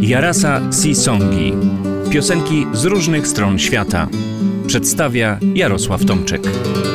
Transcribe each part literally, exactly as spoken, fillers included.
Jarasa Si-Songi. Piosenki z różnych stron świata. Przedstawia Jarosław Tomczyk.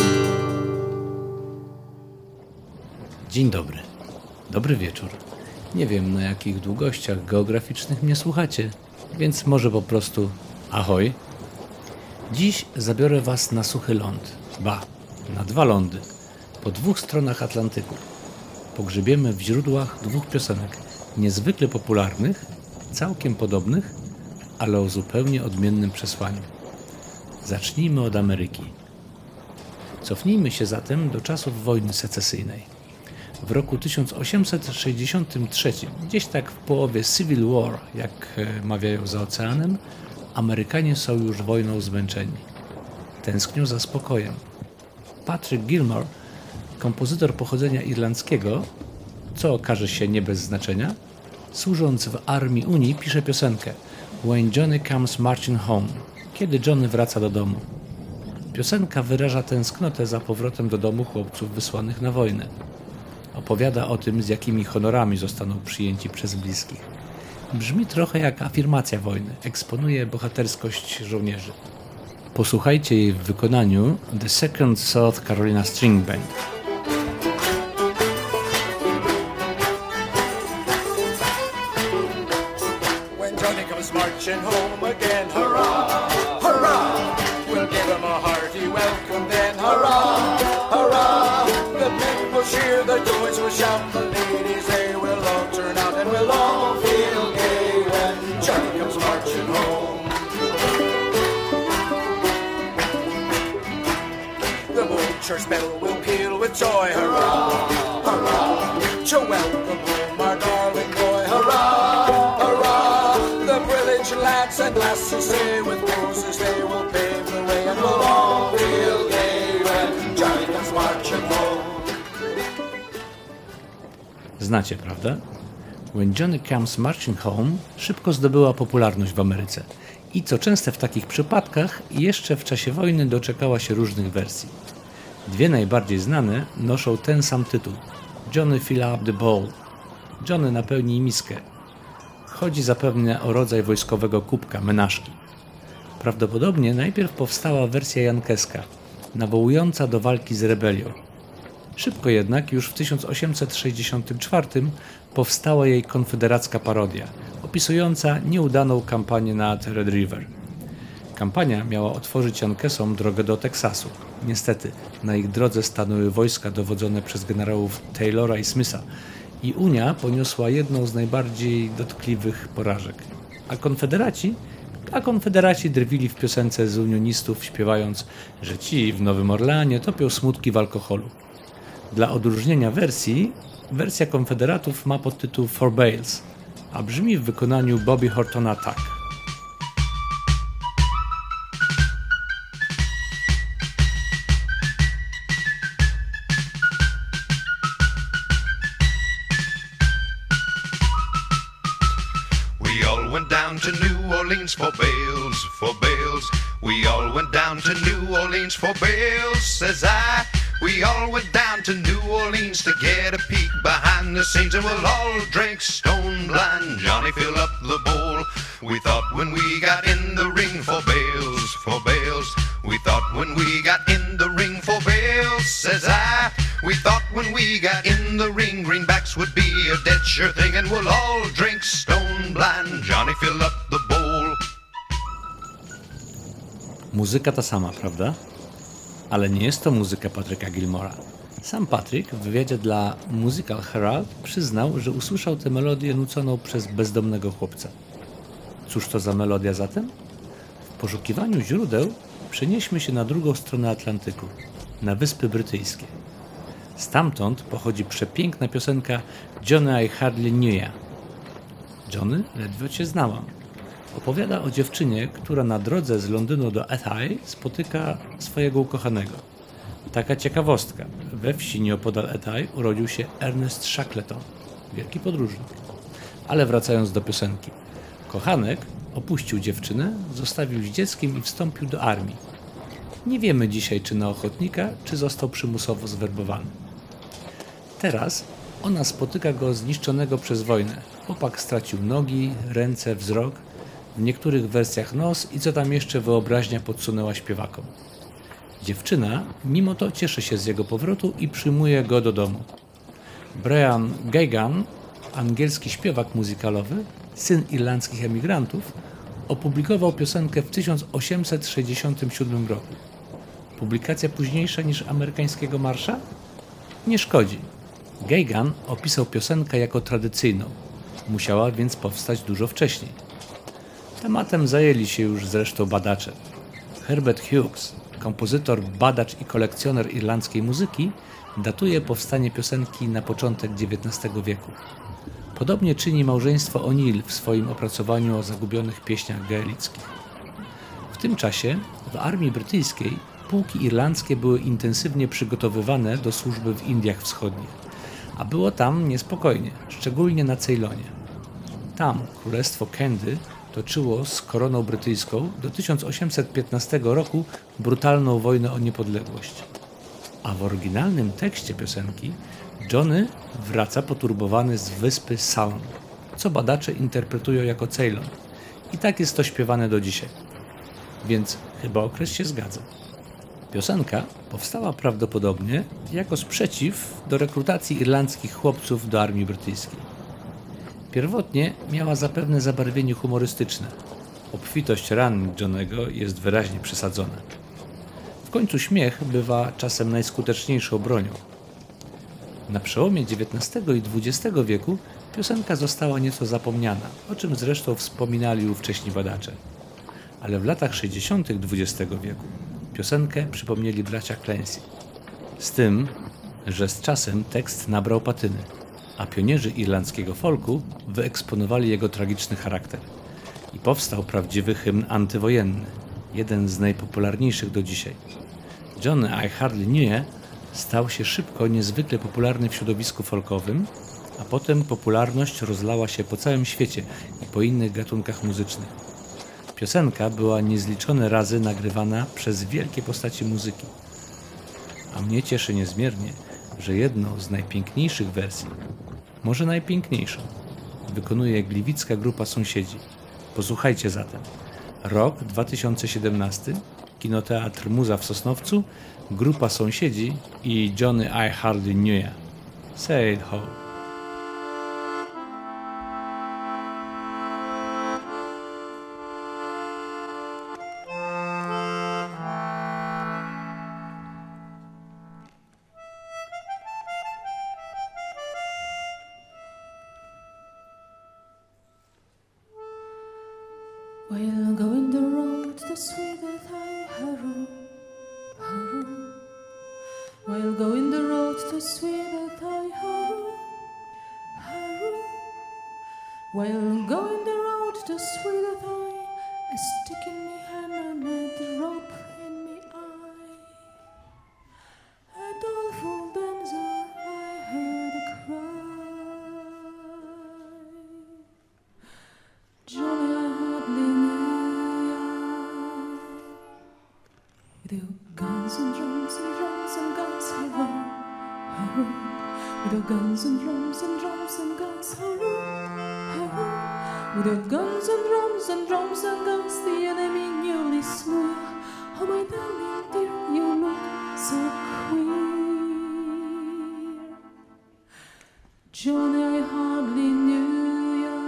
Dzień dobry. Dobry wieczór. Nie wiem, na jakich długościach geograficznych mnie słuchacie, więc może po prostu ahoj. Dziś zabiorę was na suchy ląd. Ba, na dwa lądy. Po dwóch stronach Atlantyku. Pogrzebiemy w źródłach dwóch piosenek. Niezwykle popularnych, całkiem podobnych, ale o zupełnie odmiennym przesłaniu. Zacznijmy od Ameryki. Cofnijmy się zatem do czasów wojny secesyjnej. W roku tysiąc osiemset sześćdziesiątym trzecim, gdzieś tak w połowie Civil War, jak mawiają za oceanem, Amerykanie są już wojną zmęczeni. Tęsknią za spokojem. Patrick Gilmore, kompozytor pochodzenia irlandzkiego, co okaże się nie bez znaczenia, służąc w armii Unii, pisze piosenkę When Johnny Comes Marching Home, kiedy Johnny wraca do domu. Piosenka wyraża tęsknotę za powrotem do domu chłopców wysłanych na wojnę. Opowiada o tym, z jakimi honorami zostaną przyjęci przez bliskich. Brzmi trochę jak afirmacja wojny, eksponuje bohaterskość żołnierzy. Posłuchajcie jej w wykonaniu The Second South Carolina String Band. Marching home again, hurrah, hurrah, we'll give him a hearty welcome then, hurrah, hurrah, the men will cheer, the boys will shout, the ladies they will all turn out and we'll all feel gay when Johnny comes marching home. The old church bell will peal with joy, hurrah, hurrah, to welcome home our darling boy, hurrah, hurrah, the village lads and lasses say with roses they will pave the way and we'll all feel gay when Johnny comes marching home. Znacie, prawda? When Johnny Comes Marching Home szybko zdobyła popularność w Ameryce i co częste w takich przypadkach jeszcze w czasie wojny doczekała się różnych wersji. Dwie najbardziej znane noszą ten sam tytuł Johnny Fill Up the Bowl. Johnny napełnij miskę. Chodzi zapewne o rodzaj wojskowego kubka, menażki. Prawdopodobnie najpierw powstała wersja jankeska, nawołująca do walki z rebelią. Szybko jednak, już w tysiąc osiemset sześćdziesiątym czwartym powstała jej konfederacka parodia, opisująca nieudaną kampanię nad Red River. Kampania miała otworzyć jankesom drogę do Teksasu. Niestety, na ich drodze stanęły wojska dowodzone przez generałów Taylora i Smitha, i Unia poniosła jedną z najbardziej dotkliwych porażek. A konfederaci? A konfederaci drwili w piosence z unionistów, śpiewając, że ci w Nowym Orleanie topią smutki w alkoholu. Dla odróżnienia wersji, wersja konfederatów ma podtytuł For Bales, a brzmi w wykonaniu Bobby Hortona tak. To New Orleans for bales, for bales. We all went down to New Orleans for bales, says I. We all went down to New Orleans to get a peek behind the scenes, and we'll all drink stone blind. Johnny, fill up the bowl. We thought when we got in the ring for bales, for bales. We thought when we got in the ring for bales, says I. We thought when we got in the ring, greenbacks would be a dead sure thing, and we'll all drink stone blind. Johnny, fill up the bowl. Muzyka ta sama, prawda? Ale nie jest to muzyka Patricka Gilmora. Sam Patrick w wywiadzie dla Musical Herald przyznał, że usłyszał tę melodię nuconą przez bezdomnego chłopca. Cóż to za melodia zatem? W poszukiwaniu źródeł przenieśmy się na drugą stronę Atlantyku, na Wyspy Brytyjskie. Stamtąd pochodzi przepiękna piosenka Johnny I Hardly Knew Ya. Johnny, ledwo cię znałam. Opowiada o dziewczynie, która na drodze z Londynu do Athy spotyka swojego ukochanego. Taka ciekawostka. We wsi nieopodal Athy urodził się Ernest Shackleton, wielki podróżnik. Ale wracając do piosenki. Kochanek opuścił dziewczynę, zostawił z dzieckiem i wstąpił do armii. Nie wiemy dzisiaj, czy na ochotnika, czy został przymusowo zwerbowany. Teraz ona spotyka go zniszczonego przez wojnę, Chłopak stracił nogi, ręce, wzrok, w niektórych wersjach nos i co tam jeszcze wyobraźnia podsunęła śpiewakom. Dziewczyna mimo to cieszy się z jego powrotu i przyjmuje go do domu. Brian Geoghegan, angielski śpiewak muzykalowy, syn irlandzkich emigrantów, opublikował piosenkę w tysiąc osiemset sześćdziesiątym siódmym roku. Publikacja późniejsza niż amerykańskiego marsza? Nie szkodzi. Geoghegan opisał piosenkę jako tradycyjną. Musiała więc powstać dużo wcześniej. Tematem zajęli się już zresztą badacze. Herbert Hughes, kompozytor, badacz i kolekcjoner irlandzkiej muzyki, datuje powstanie piosenki na początek dziewiętnastego wieku. Podobnie czyni małżeństwo O'Neill w swoim opracowaniu o zagubionych pieśniach gaelickich. W tym czasie w armii brytyjskiej pułki irlandzkie były intensywnie przygotowywane do służby w Indiach Wschodnich, a było tam niespokojnie, szczególnie na Ceylonie. Tam królestwo Kendy toczyło z koroną brytyjską do tysiąc osiemset piętnastego roku brutalną wojnę o niepodległość. A w oryginalnym tekście piosenki Johnny wraca poturbowany z wyspy Salm, co badacze interpretują jako Ceylon. I tak jest to śpiewane do dzisiaj. Więc chyba okres się zgadza. Piosenka powstała prawdopodobnie jako sprzeciw do rekrutacji irlandzkich chłopców do armii brytyjskiej. Pierwotnie miała zapewne zabarwienie humorystyczne. Obfitość ran Johnnego jest wyraźnie przesadzona. W końcu śmiech bywa czasem najskuteczniejszą bronią. Na przełomie dziewiętnastego i dwudziestego wieku piosenka została nieco zapomniana, o czym zresztą wspominali ówcześni badacze. Ale w latach sześćdziesiątych dwudziestego wieku piosenkę przypomnieli bracia Clancy. Z tym, że z czasem tekst nabrał patyny, a pionierzy irlandzkiego folku wyeksponowali jego tragiczny charakter. I powstał prawdziwy hymn antywojenny, jeden z najpopularniejszych do dzisiaj. Johnny I Hardly Knew stał się szybko niezwykle popularny w środowisku folkowym, a potem popularność rozlała się po całym świecie i po innych gatunkach muzycznych. Piosenka była niezliczone razy nagrywana przez wielkie postaci muzyki. A mnie cieszy niezmiernie, że jedną z najpiękniejszych wersji, może najpiękniejszą, wykonuje gliwicka grupa Sąsiedzi. Posłuchajcie zatem. Rok dwa tysiące siedemnasty, Kinoteatr Muza w Sosnowcu, grupa Sąsiedzi i Johnny I Hardly Knew. Say it ho. While going the road to sweet that I harrow, harrow. While going the road to sweet that I harrow, harrow. While going the road to sweet that I, a stick in me hand and a drop in me eye. A doleful dancer I heard cry. Johnny, I hardly knew ya. With your guns and drums and drums and guns, hurrah, hurrah. With your guns and drums and drums and guns, hurrah, hurrah. With your guns and drums and drums and guns, the enemy newly slew ya. Oh my darling dear, you look so queer. Johnny, I hardly knew ya.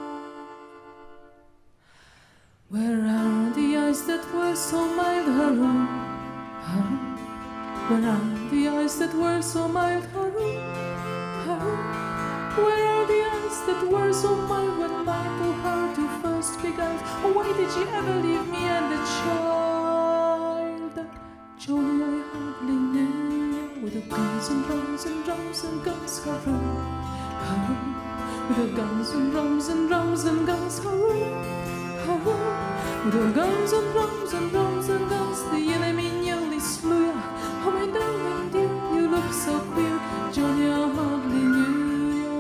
Where are the eyes that were so mild, harrow, harrow? Where are the eyes that were so mild, harrow, harrow? Where are the eyes that were so mild when my poor heart you first beguiled? Oh, why did you ever leave me and the child? Johnny, I hardly knew ya. With the guns and drums and drums and guns, harrow, harrow. With the guns and drums and drums and guns, harrow, harrow. With the guns and drums and drums and guns, the enemy nearly slew ya. Oh my darling dear, you look so queer. Johnny, I hardly knew ya.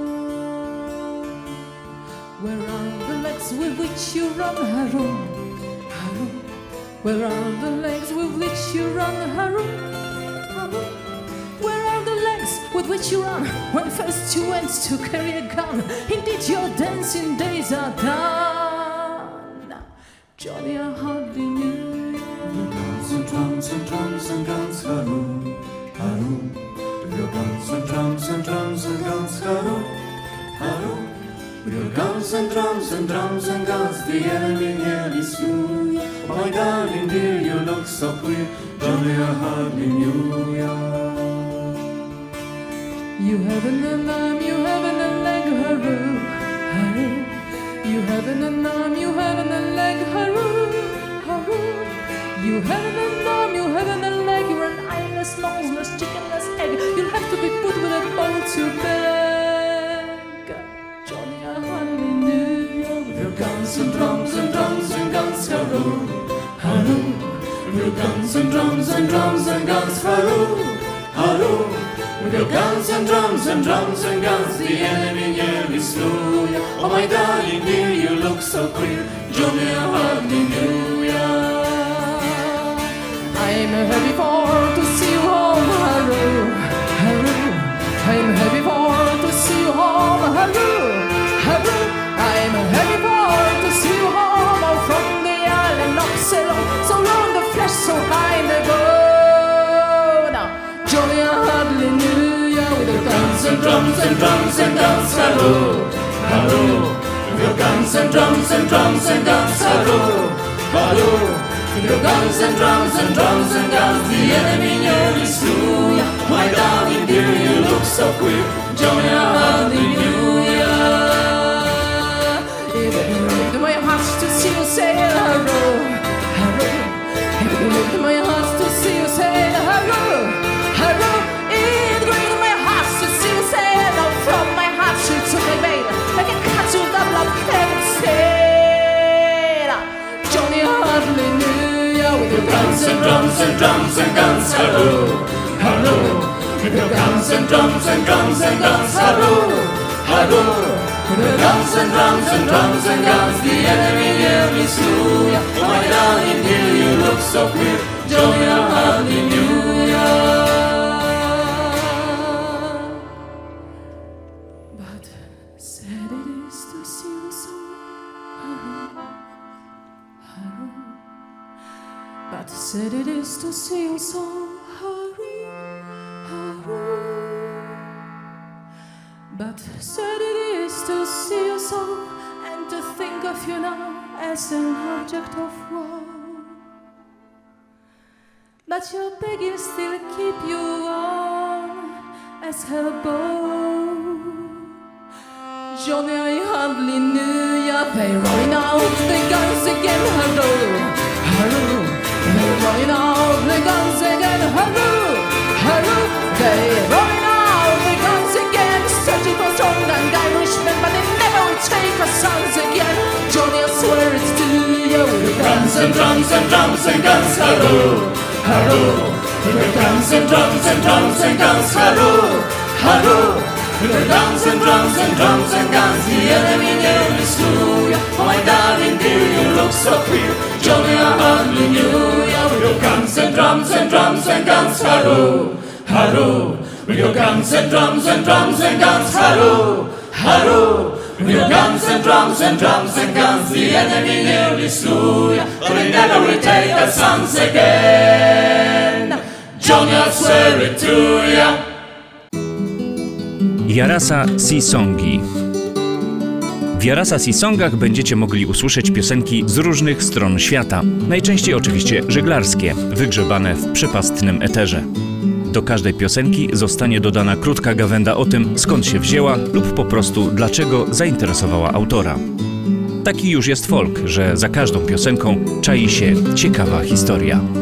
Where are the legs with which you run, harrow, harrow? Where are the legs with which you run, harrow, harrow? Where are the legs with which you run when first you went to carry a gun. Indeed, your dancing days are done. Johnny, I hardly knew you. Guns and drums and drums and guns, halloo, halloo. With your guns and drums and drums and guns, halloo, halloo. With your guns and drums and drums and guns, the enemy nearly slew ya. Oh my darling dear, you look so queer, Johnny, I hardly knew ya. You haven't an arm, you haven't a leg, hurroo, hurroo. You haven't an arm, you haven't a leg, hurroo, hurroo. You haven't an arm, you haven't a leg, you're an eyeless, noseless, chickenless egg. You'll have to be put with a bowl to beg. Johnny, I hardly knew you. With your guns and drums and drums and guns, halloo, halloo. With your guns and drums and drums and guns, halloo, halloo. With your guns and drums and drums and guns, the enemy nearly slew ya. Oh my darling dear, you look so queer, Johnny, I hardly knew ya. I'm happy for to see you home, halloo, halloo. I'm happy for to see you home, halloo, halloo. I'm happy for to see you home, all from the island of Ceylon, so long the flesh, so high in the bone. Johnny, I hardly knew you. With your guns and drums and drums and guns, halloo, halloo. With your guns and drums and drums and guns, halloo, halloo. With your guns and drums and drums and guns, the enemy nearly slew ya. My darling dear, you look so queer, Johnny, I hardly knew ya. If it gripped my heart to see you say hurroo, hurroo. If it gripped my heart to see you say hurroo, hurroo. It gripped my heart to see you say no. From my heart she took my veil like a cat to the blood and said, Johnny, I hardly knew. With your guns and drums and drums and guns, halloo, halloo. With your guns and drums and drums and guns, halloo, halloo. With your guns and drums and drums and guns, the enemy nearly slew ya. Oh my darling dear, you look so queer, Johnny, I hardly knew ya. But sad it is to see you so, halloo, halloo. But sad it is to see you so, hurry, hurry. But sad it is to see you so, and to think of you now as an object of woe. But your Peggy still keep you on as her beau. Johnny, I hardly knew ya. They rolling out the guns again, halloo, halloo. They're rolling out the guns again, halloo, halloo. They're rolling out the guns again, searching for strong and Irishmen, but they never will take our sons again. Johnny, I swear it's to you. With your guns and drums and drums and guns, halloo, halloo. With your guns and drums and drums and guns, halloo, halloo. With your guns and drums and drums and guns, the enemy nearly slew ya. Oh my darling dear, you look so queer, Johnny, I hardly knew ya. With your guns and drums and drums and guns, halloo, halloo. With your guns and drums and drums and guns, halloo, halloo. With your guns and drums and drums and guns, the enemy nearly slew ya. But they never will take our sons again, Johnny, I swear it to ya. Jarasa Sisongi. W Jarasa Sisongach będziecie mogli usłyszeć piosenki z różnych stron świata. Najczęściej oczywiście żeglarskie, wygrzebane w przepastnym eterze. Do każdej piosenki zostanie dodana krótka gawęda o tym, skąd się wzięła lub po prostu dlaczego zainteresowała autora. Taki już jest folk, że za każdą piosenką czai się ciekawa historia.